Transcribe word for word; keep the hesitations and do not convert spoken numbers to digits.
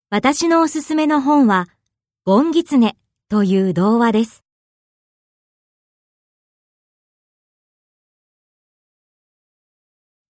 私のおすすめの本は、ゴンギツネという童話です。